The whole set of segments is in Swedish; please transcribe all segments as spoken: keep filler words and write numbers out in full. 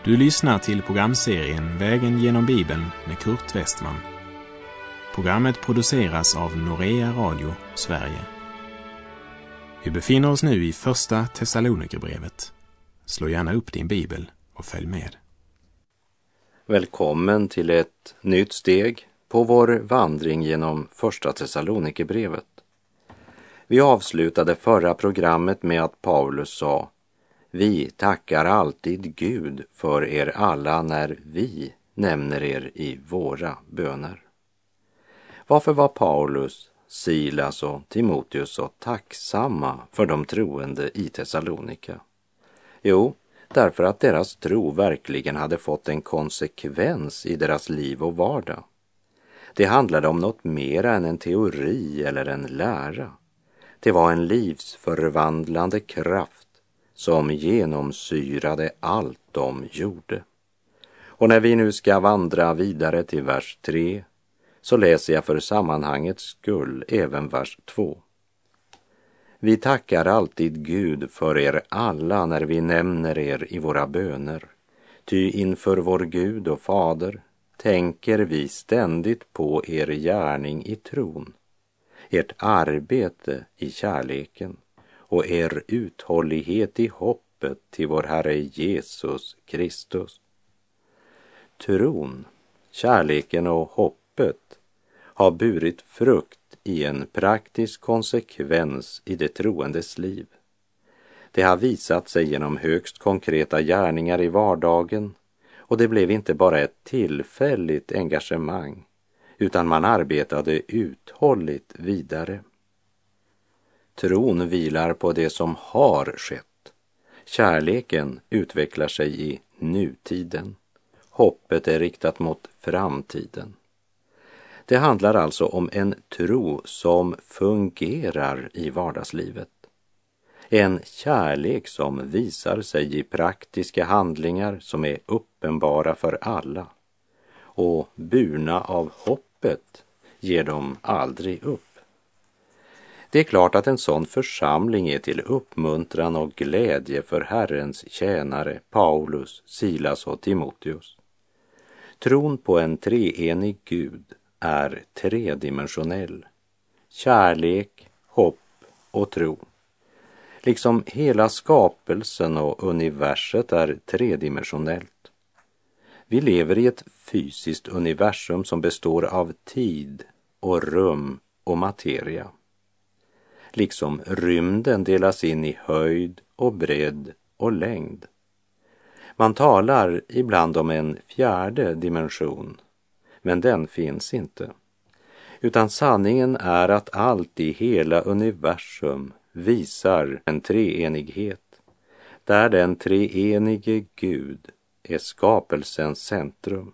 Du lyssnar till programserien Vägen genom Bibeln med Kurt Westman. Programmet produceras av Norea Radio, Sverige. Vi befinner oss nu i första Thessalonikerbrevet. Slå gärna upp din bibel och följ med. Välkommen till ett nytt steg på vår vandring genom första Thessalonikerbrevet. Vi avslutade förra programmet med att Paulus sa: Vi tackar alltid Gud för er alla när vi nämner er i våra böner. Varför var Paulus, Silas och Timoteus så tacksamma för de troende i Thessalonika? Jo, därför att deras tro verkligen hade fått en konsekvens i deras liv och vardag. Det handlade om något mer än en teori eller en lära. Det var en livsförvandlande kraft som genomsyrade allt de gjorde. Och när vi nu ska vandra vidare till vers tre, så läser jag för sammanhangets skull även vers två. Vi tackar alltid Gud för er alla när vi nämner er i våra böner. Ty inför vår Gud och Fader tänker vi ständigt på er gärning i tron, ert arbete i kärleken och er uthållighet i hoppet till vår Herre Jesus Kristus. Tron, kärleken och hoppet har burit frukt i en praktisk konsekvens i det troendes liv. Det har visat sig genom högst konkreta gärningar i vardagen, och det blev inte bara ett tillfälligt engagemang, utan man arbetade uthålligt vidare. Tron vilar på det som har skett. Kärleken utvecklar sig i nutiden. Hoppet är riktat mot framtiden. Det handlar alltså om en tro som fungerar i vardagslivet. En kärlek som visar sig i praktiska handlingar som är uppenbara för alla. Och burna av hoppet ger de aldrig upp. Det är klart att en sån församling är till uppmuntran och glädje för Herrens tjänare Paulus, Silas och Timoteus. Tron på en treenig Gud är tredimensionell. Kärlek, hopp och tro. Liksom hela skapelsen och universet är tredimensionellt. Vi lever i ett fysiskt universum som består av tid och rum och materia. Liksom rymden delas in i höjd och bredd och längd. Man talar ibland om en fjärde dimension, men den finns inte. Utan sanningen är att allt i hela universum visar en treenighet, där den treenige Gud är skapelsens centrum.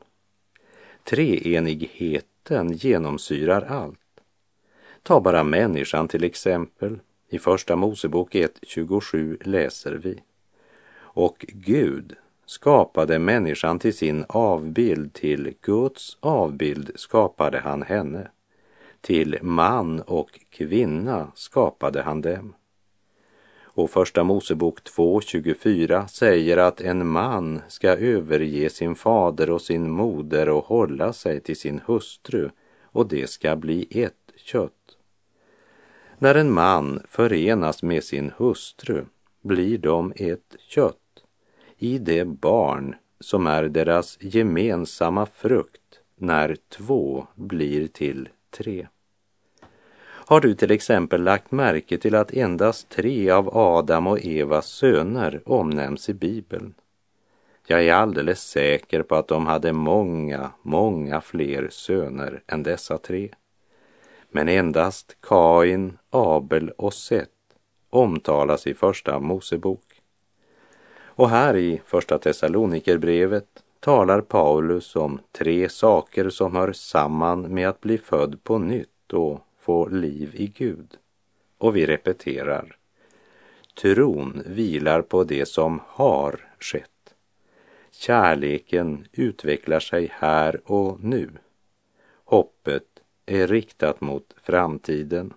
Treenigheten genomsyrar allt. Ta bara människan till exempel. I första Mosebok ett tjugosju läser vi: Och Gud skapade människan till sin avbild, till Guds avbild skapade han henne. Till man och kvinna skapade han dem. Och första Mosebok två tjugofyra säger att en man ska överge sin fader och sin moder och hålla sig till sin hustru, och det ska bli ett kött. När en man förenas med sin hustru blir de ett kött i det barn som är deras gemensamma frukt när två blir till tre. Har du till exempel lagt märke till att endast tre av Adam och Evas söner omnämns i Bibeln? Jag är alldeles säker på att de hade många, många fler söner än dessa tre. Men endast Kain, Abel och Set omtalas i första Mosebok. Och här i första Thessalonikerbrevet talar Paulus om tre saker som hör samman med att bli född på nytt och få liv i Gud. Och vi repeterar: tron vilar på det som har skett. Kärleken utvecklar sig här och nu. Hoppet är riktat mot framtiden.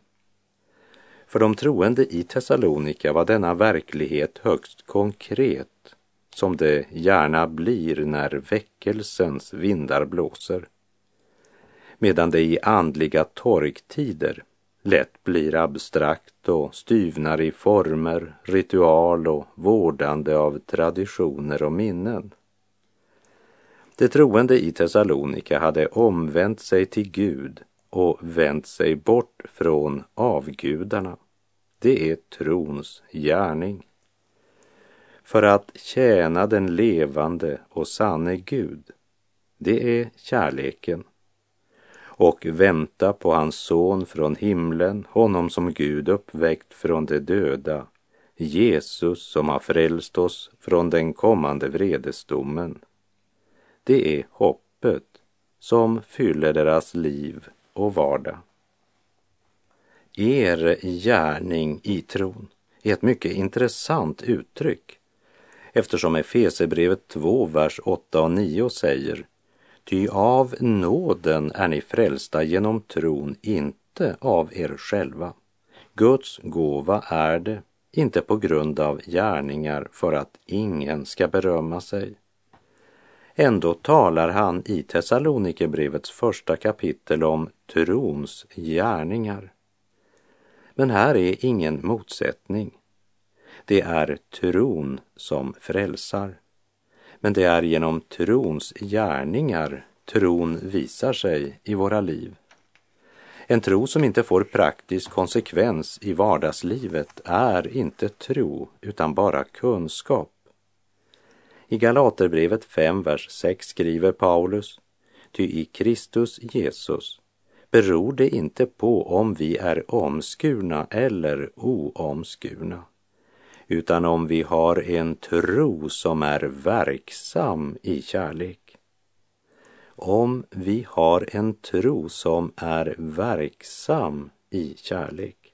För de troende i Thessalonika var denna verklighet högst konkret som det gärna blir när väckelsens vindar blåser, medan det i andliga torktider lätt blir abstrakt och styvnar i former, ritual och vårdande av traditioner och minnen. De troende i Thessalonika hade omvänt sig till Gud och vänt sig bort från avgudarna. Det är trons gärning. För att tjäna den levande och sanne Gud, det är kärleken. Och vänta på hans son från himlen, honom som Gud uppväckt från de döda, Jesus som har frälst oss från den kommande vredesdomen. Det är hoppet som fyller deras liv och vardag. Er gärning i tron är ett mycket intressant uttryck, eftersom Efesierbrevet två, vers åtta och nio säger: ty av nåden är ni frälsta genom tron, inte av er själva. Guds gåva är det, inte på grund av gärningar, för att ingen ska berömma sig. Ändå talar han i Thessalonikerbrevets första kapitel om trons gärningar. Men här är ingen motsättning. Det är tron som frälsar. Men det är genom trons gärningar tron visar sig i våra liv. En tro som inte får praktisk konsekvens i vardagslivet är inte tro, utan bara kunskap. I Galaterbrevet fem, vers sex skriver Paulus: ty i Kristus Jesus beror det inte på om vi är omskurna eller oomskurna, utan om vi har en tro som är verksam i kärlek. Om vi har en tro som är verksam i kärlek.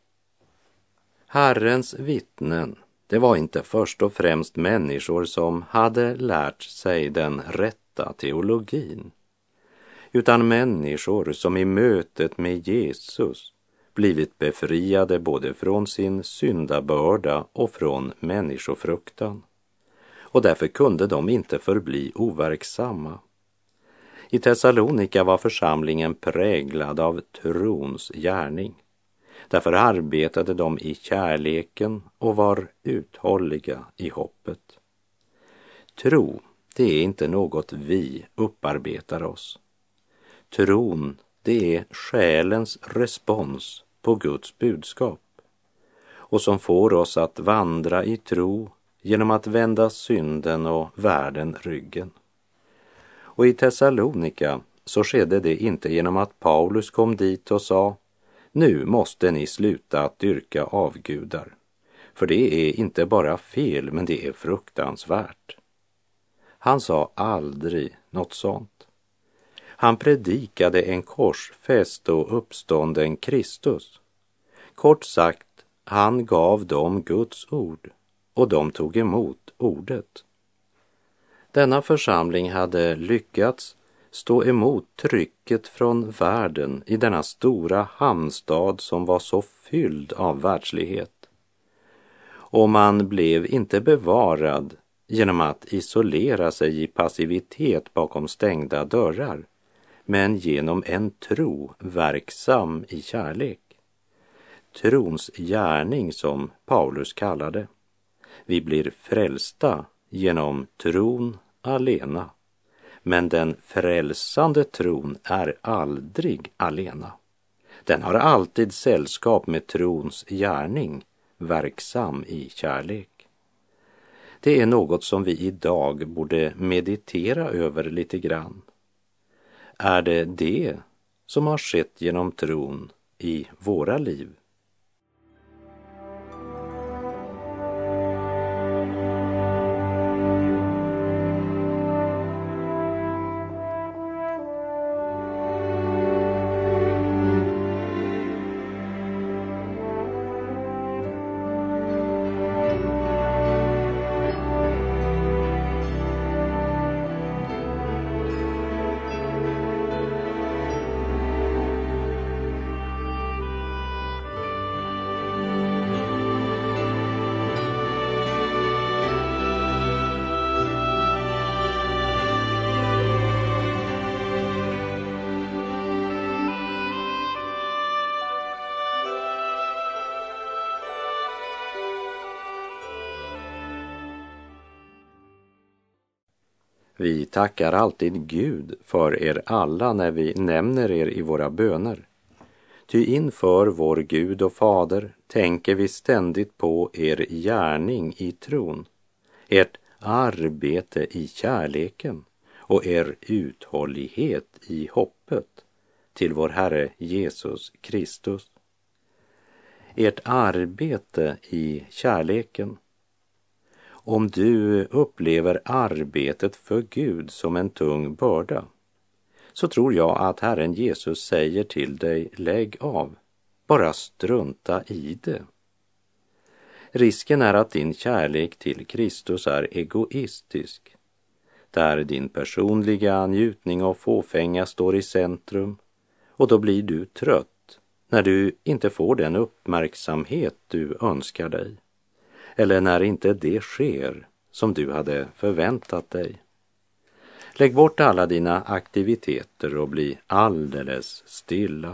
Herrens vittnen, det var inte först och främst människor som hade lärt sig den rätta teologin, utan människor som i mötet med Jesus blivit befriade både från sin syndabörda och från människofruktan. Och därför kunde de inte förbli overksamma. I Thessalonika var församlingen präglad av trons gärning. Därför arbetade de i kärleken och var uthålliga i hoppet. Tro, det är inte något vi upparbetar oss. Tron, det är själens respons på Guds budskap, och som får oss att vandra i tro genom att vända synden och världen ryggen. Och i Thessalonika så skedde det inte genom att Paulus kom dit och sa: nu måste ni sluta att dyrka avgudar, för det är inte bara fel, men det är fruktansvärt. Han sa aldrig något sånt. Han predikade en korsfäst och uppstånden Kristus. Kort sagt, han gav dem Guds ord, och de tog emot ordet. Denna församling hade lyckats stå emot trycket från världen i denna stora hamnstad som var så fylld av världslighet. Och man blev inte bevarad genom att isolera sig i passivitet bakom stängda dörrar, men genom en tro verksam i kärlek. Trons gärning, som Paulus kallade. Vi blir frälsta genom tron alena. Men den frälsande tron är aldrig alena. Den har alltid sällskap med trons gärning, verksam i kärlek. Det är något som vi idag borde meditera över lite grann. Är det det som har skett genom tron i våra liv? Vi tackar alltid Gud för er alla när vi nämner er i våra böner. Ty inför vår Gud och Fader tänker vi ständigt på er gärning i tron, ert arbete i kärleken och er uthållighet i hoppet till vår Herre Jesus Kristus. Ert arbete i kärleken. Om du upplever arbetet för Gud som en tung börda, så tror jag att Herren Jesus säger till dig, lägg av, bara strunta i det. Risken är att din kärlek till Kristus är egoistisk, där din personliga njutning och fåfänga står i centrum, och då blir du trött när du inte får den uppmärksamhet du önskar dig, eller när inte det sker som du hade förväntat dig. Lägg bort alla dina aktiviteter och bli alldeles stilla.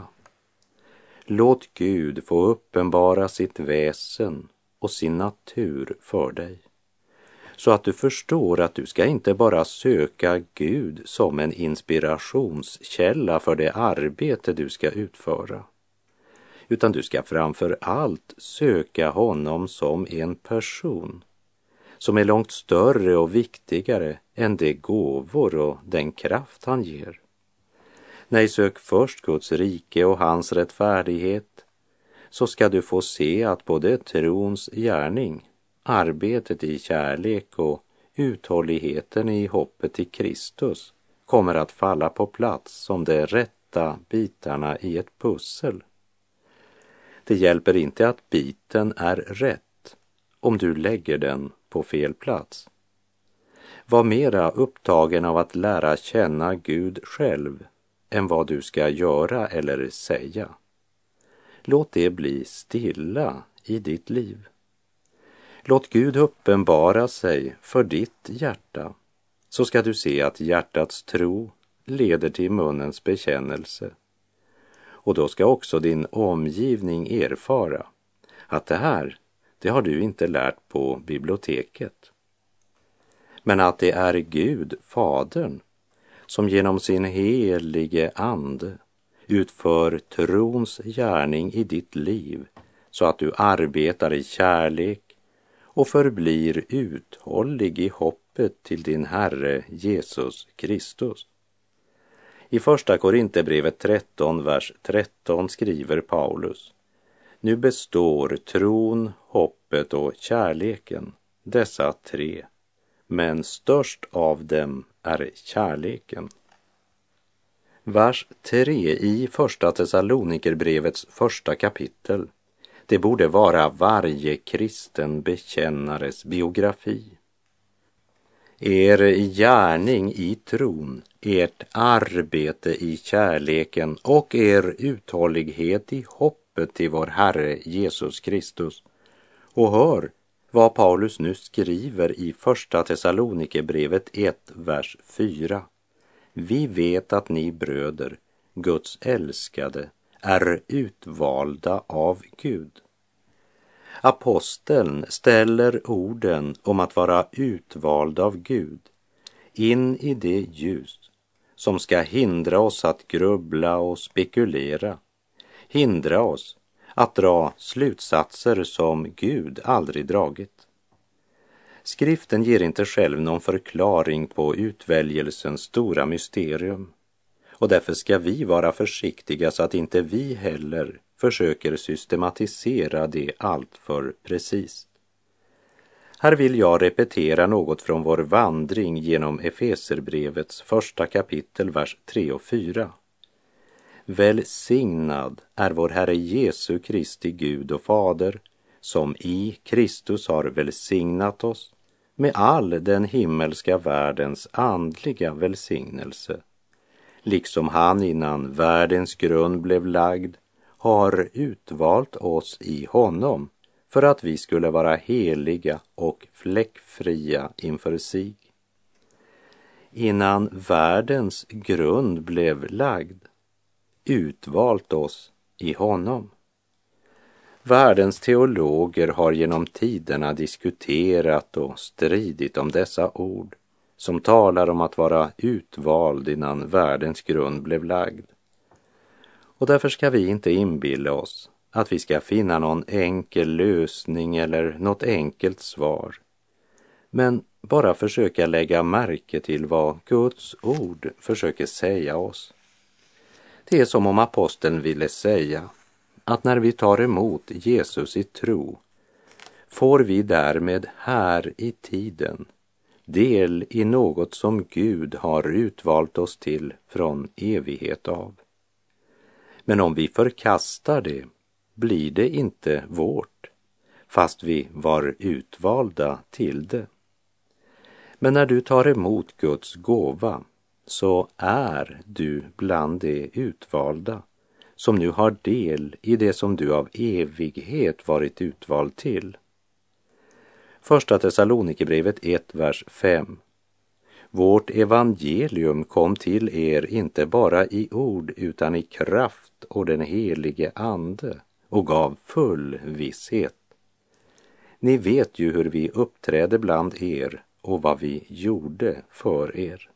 Låt Gud få uppenbara sitt väsen och sin natur för dig, så att du förstår att du ska inte bara söka Gud som en inspirationskälla för det arbete du ska utföra, utan du ska framför allt söka honom som en person som är långt större och viktigare än de gåvor och den kraft han ger. Nej, sök först Guds rike och hans rättfärdighet, så ska du få se att både trons gärning, arbetet i kärlek och uthålligheten i hoppet i Kristus kommer att falla på plats som de rätta bitarna i ett pussel. Det hjälper inte att biten är rätt om du lägger den på fel plats. Var mera upptagen av att lära känna Gud själv än vad du ska göra eller säga. Låt det bli stilla i ditt liv. Låt Gud uppenbara sig för ditt hjärta, så ska du se att hjärtats tro leder till munnens bekännelse. Och då ska också din omgivning erfara att det här, det har du inte lärt på biblioteket. Men att det är Gud, Fadern, som genom sin helige ande utför trons gärning i ditt liv, så att du arbetar i kärlek och förblir uthållig i hoppet till din Herre Jesus Kristus. I första Korinthierbrevet tretton, vers tretton skriver Paulus: nu består tron, hoppet och kärleken, dessa tre, men störst av dem är kärleken. Vers tre i första Thessalonikerbrevets första kapitel, det borde vara varje kristen bekännares biografi. Er gärning i tron, ert arbete i kärleken och er uthållighet i hoppet till vår Herre Jesus Kristus. Och hör vad Paulus nu skriver i första Thessalonikerbrevet ett, vers fyra. Vi vet att ni bröder, Guds älskade, är utvalda av Gud. Aposteln ställer orden om att vara utvald av Gud in i det ljus som ska hindra oss att grubbla och spekulera, hindra oss att dra slutsatser som Gud aldrig dragit. Skriften ger inte själv någon förklaring på utväljelsens stora mysterium, och därför ska vi vara försiktiga så att inte vi heller försöker systematisera det allt för precis. Här vill jag repetera något från vår vandring genom Efeserbrevets första kapitel, vers tre och fyra. Välsignad är vår Herre Jesu Kristi Gud och Fader, som i Kristus har välsignat oss med all den himmelska världens andliga välsignelse, liksom han innan världens grund blev lagd har utvalt oss i honom för att vi skulle vara heliga och fläckfria inför sig. Innan världens grund blev lagd, utvalt oss i honom. Världens teologer har genom tiderna diskuterat och stridit om dessa ord, som talar om att vara utvald innan världens grund blev lagd. Och därför ska vi inte inbilla oss att vi ska finna någon enkel lösning eller något enkelt svar, men bara försöka lägga märke till vad Guds ord försöker säga oss. Det är som om aposteln ville säga att när vi tar emot Jesus i tro får vi därmed här i tiden del i något som Gud har utvalt oss till från evighet av. Men om vi förkastar det blir det inte vårt, fast vi var utvalda till det. Men när du tar emot Guds gåva så är du bland de utvalda som nu har del i det som du av evighet varit utvald till. Första Thessalonikerbrevet ett, vers fem. Vårt evangelium kom till er inte bara i ord utan i kraft och den helige ande och gav full visshet. Ni vet ju hur vi uppträdde bland er och vad vi gjorde för er.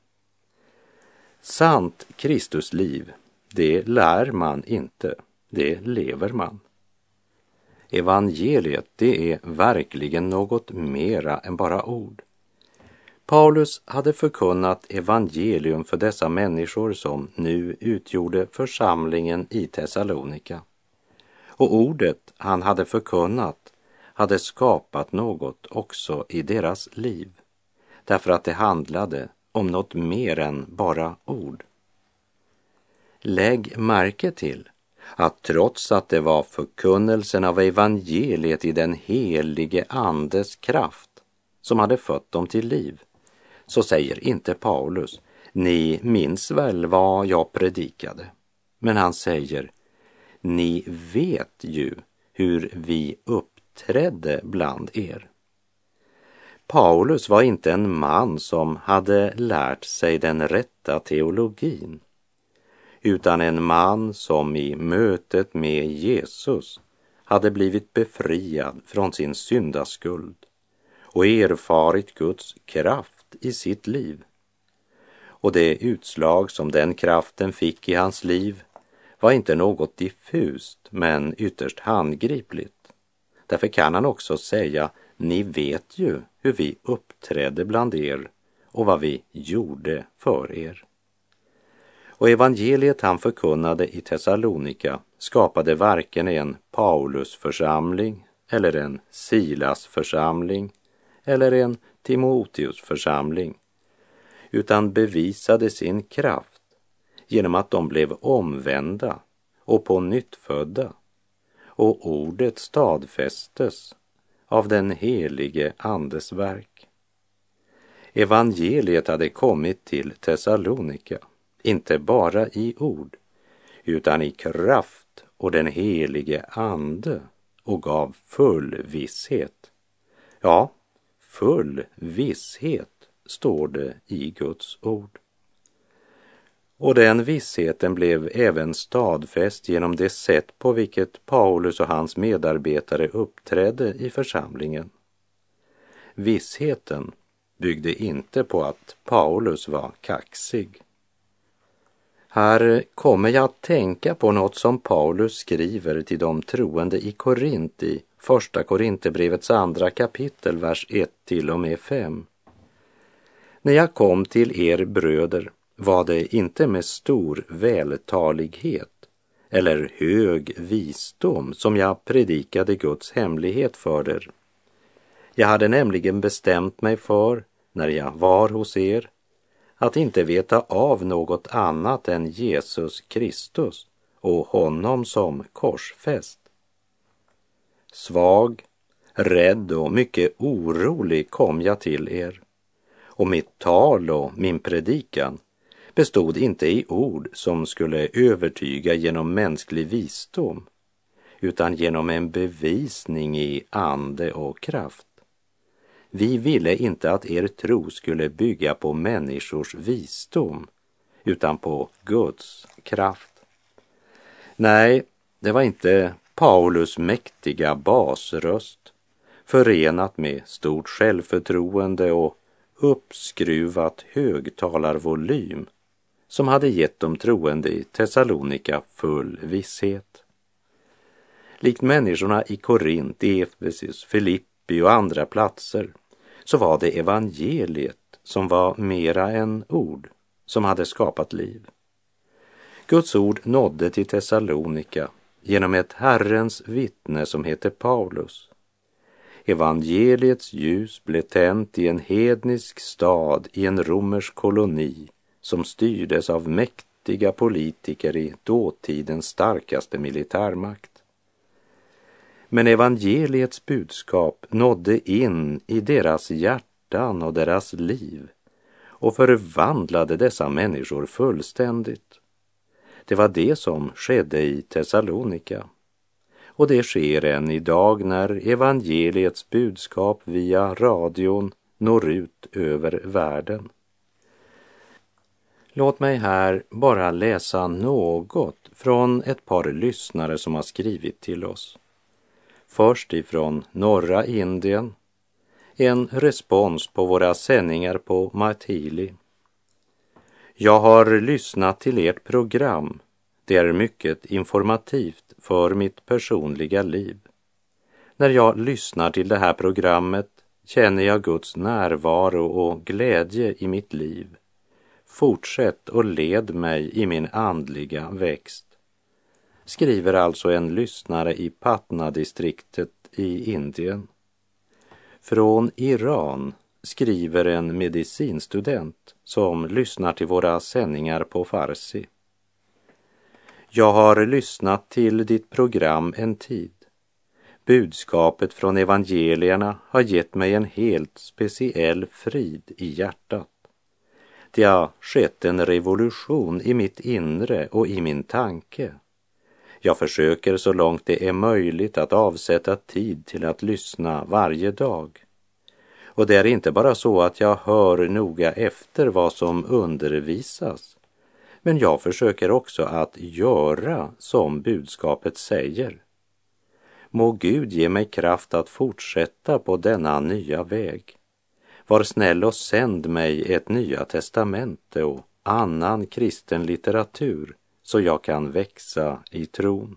Sant Kristusliv, det lär man inte, det lever man. Evangeliet, det är verkligen något mera än bara ord. Paulus hade förkunnat evangelium för dessa människor som nu utgjorde församlingen i Thessalonika. Och ordet han hade förkunnat hade skapat något också i deras liv, därför att det handlade om något mer än bara ord. Lägg märke till att trots att det var förkunnelsen av evangeliet i den helige andes kraft som hade fött dem till liv, så säger inte Paulus, ni minns väl vad jag predikade. Men han säger, ni vet ju hur vi uppträdde bland er. Paulus var inte en man som hade lärt sig den rätta teologin, utan en man som i mötet med Jesus hade blivit befriad från sin syndaskuld och erfarit Guds kraft i sitt liv. Och det utslag som den kraften fick i hans liv var inte något diffust men ytterst handgripligt. Därför kan han också säga, ni vet ju hur vi uppträdde bland er och vad vi gjorde för er. Och evangeliet han förkunnade i Thessalonika skapade varken en Paulusförsamling eller en Silasförsamling eller en Timoteusförsamling, utan bevisade sin kraft genom att de blev omvända och på nytt födda, och ordet stadfästes av den helige andes verk. Evangeliet hade kommit till Thessalonika, inte bara i ord, utan i kraft och den helige ande, och gav full visshet. Ja, full visshet står det i Guds ord. Och den vissheten blev även stadfäst genom det sätt på vilket Paulus och hans medarbetare uppträdde i församlingen. Vissheten byggde inte på att Paulus var kaxig. Här kommer jag att tänka på något som Paulus skriver till de troende i Korint i första Korinthierbrevets andra kapitel, vers ett till och med fem. När jag kom till er bröder var det inte med stor vältalighet eller hög visdom som jag predikade Guds hemlighet för er. Jag hade nämligen bestämt mig för, när jag var hos er, att inte veta av något annat än Jesus Kristus och honom som korsfäst. Svag, rädd och mycket orolig kom jag till er, och mitt tal och min predikan bestod inte i ord som skulle övertyga genom mänsklig visdom, utan genom en bevisning i ande och kraft. Vi ville inte att er tro skulle bygga på människors visdom, utan på Guds kraft. Nej, det var inte Paulus mäktiga basröst, förenat med stort självförtroende och uppskruvat högtalarvolym som hade gett de troende i Thessalonika full visshet. Likt människorna i Korint, Efesus, Filippi och andra platser så var det evangeliet som var mera än ord som hade skapat liv. Guds ord nådde till Thessalonika genom ett Herrens vittne som heter Paulus. Evangeliets ljus blev tänt i en hednisk stad i en romersk koloni som styrdes av mäktiga politiker i dåtidens starkaste militärmakt. Men evangeliets budskap nådde in i deras hjärtan och deras liv och förvandlade dessa människor fullständigt. Det var det som skedde i Thessalonika. Och det sker än idag när evangeliets budskap via radion når ut över världen. Låt mig här bara läsa något från ett par lyssnare som har skrivit till oss. Först ifrån norra Indien, en respons på våra sändningar på Maithili. Jag har lyssnat till ert program. Det är mycket informativt för mitt personliga liv. När jag lyssnar till det här programmet känner jag Guds närvaro och glädje i mitt liv. Fortsätt och led mig i min andliga växt. Skriver alltså en lyssnare i Patna-distriktet i Indien. Från Iran skriver en medicinstudent som lyssnar till våra sändningar på farsi. Jag har lyssnat till ditt program en tid. Budskapet från evangelierna har gett mig en helt speciell frid i hjärtat. Det har skett en revolution i mitt inre och i min tanke. Jag försöker så långt det är möjligt att avsätta tid till att lyssna varje dag. Och det är inte bara så att jag hör noga efter vad som undervisas, men jag försöker också att göra som budskapet säger. Må Gud ge mig kraft att fortsätta på denna nya väg. Var snäll och sänd mig ett Nya testamente och annan kristen litteratur så jag kan växa i tron.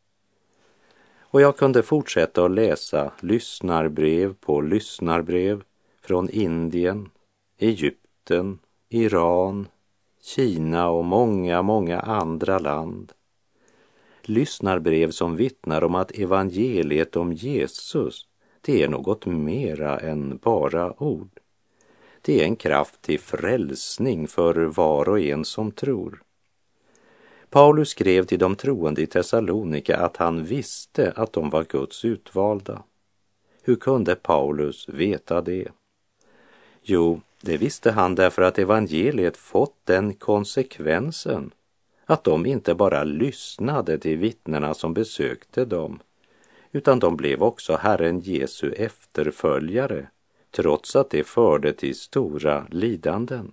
Och jag kunde fortsätta att läsa lyssnarbrev på lyssnarbrev från Indien, Egypten, Iran, Kina och många, många andra land. Lyssnarbrev som vittnar om att evangeliet om Jesus, det är något mera än bara ord. Det är en kraft till frälsning för var och en som tror. Paulus skrev till de troende i Thessalonika att han visste att de var Guds utvalda. Hur kunde Paulus veta det? Jo, det visste han därför att evangeliet fått den konsekvensen att de inte bara lyssnade till vittnena som besökte dem, utan de blev också Herren Jesu efterföljare, trots att det förde till stora lidanden.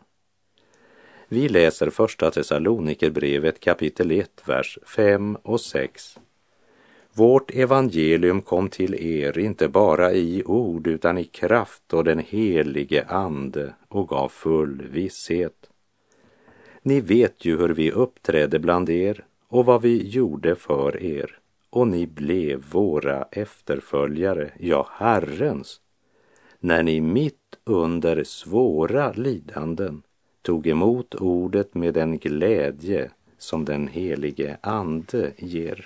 Vi läser första Thessalonikerbrevet kapitel ett, vers fem och sex. Vårt evangelium kom till er inte bara i ord utan i kraft och den helige ande och gav full visshet. Ni vet ju hur vi uppträdde bland er och vad vi gjorde för er, och ni blev våra efterföljare, ja Herrens, när ni mitt under svåra lidanden tog emot ordet med den glädje som den helige ande ger.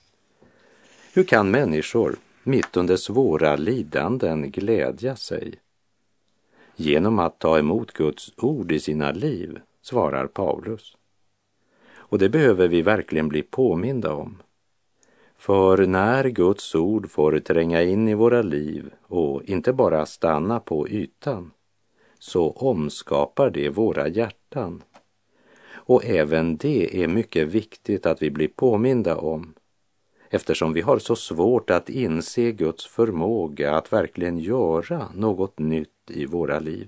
Hur kan människor mitt under svåra lidanden glädja sig? Genom att ta emot Guds ord i sina liv, svarar Paulus. Och det behöver vi verkligen bli påminda om. För när Guds ord får tränga in i våra liv och inte bara stanna på ytan, så omskapar det våra hjärtan. Och även det är mycket viktigt att vi blir påminda om, eftersom vi har så svårt att inse Guds förmåga att verkligen göra något nytt i våra liv.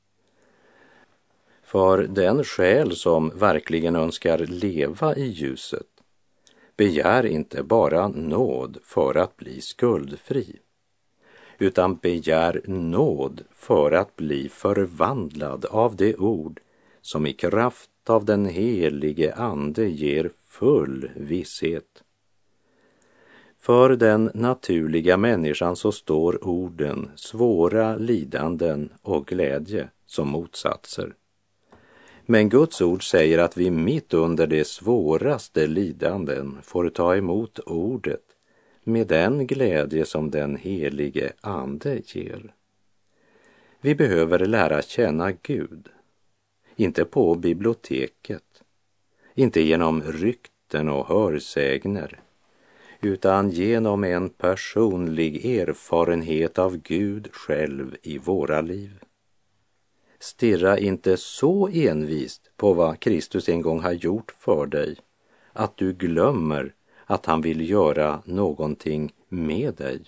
För den själ som verkligen önskar leva i ljuset begär inte bara nåd för att bli skuldfri, utan begär nåd för att bli förvandlad av det ord som i kraft av den helige Ande ger full visshet. För den naturliga människan så står orden svåra lidanden och glädje som motsatser. Men Guds ord säger att vi mitt under de svåraste lidanden får ta emot ordet med den glädje som den helige Ande ger. Vi behöver lära känna Gud, inte på biblioteket, inte genom rykten och hörsägner, utan genom en personlig erfarenhet av Gud själv i våra liv. Stirra inte så envist på vad Kristus en gång har gjort för dig att du glömmer att han vill göra någonting med dig.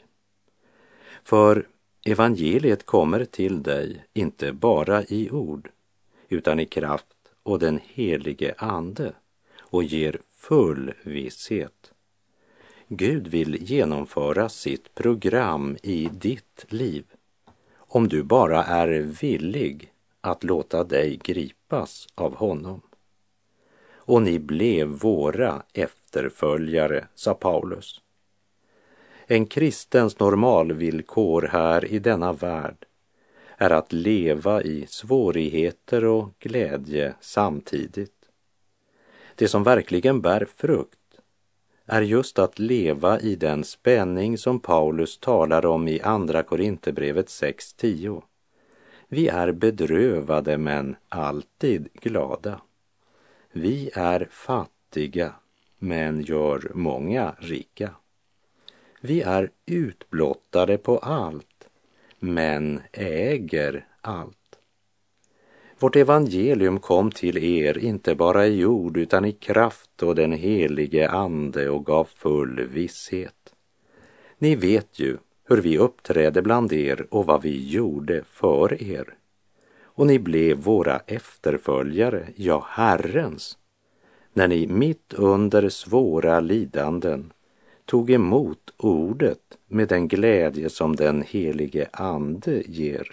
För evangeliet kommer till dig inte bara i ord, utan i kraft och den helige Ande och ger full visshet. Gud vill genomföra sitt program i ditt liv om du bara är villig att låta dig gripas av honom. Och ni blev våra efterföljare, sa Paulus. En kristens normalvillkor här i denna värld är att leva i svårigheter och glädje samtidigt. Det som verkligen bär frukt är just att leva i den spänning som Paulus talar om i andra Korinthierbrevet sex tio. Vi är bedrövade men alltid glada. Vi är fattiga men gör många rika. Vi är utblottade på allt men äger allt. Vårt evangelium kom till er inte bara i ord utan i kraft och den helige Ande och gav full visshet. Ni vet ju hur vi uppträdde bland er och vad vi gjorde för er. Och ni blev våra efterföljare, ja Herrens, när ni mitt under svåra lidanden tog emot ordet med den glädje som den helige Ande ger.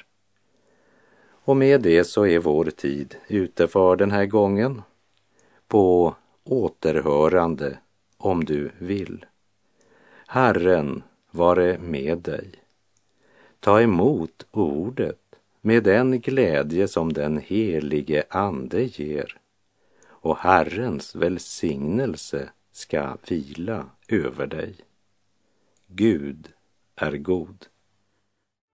Och med det så är vår tid ute för den här gången. På återhörande om du vill. Herren vare med dig. Ta emot ordet med den glädje som den helige Ande ger. Och Herrens välsignelse ska vila över dig. Gud är god.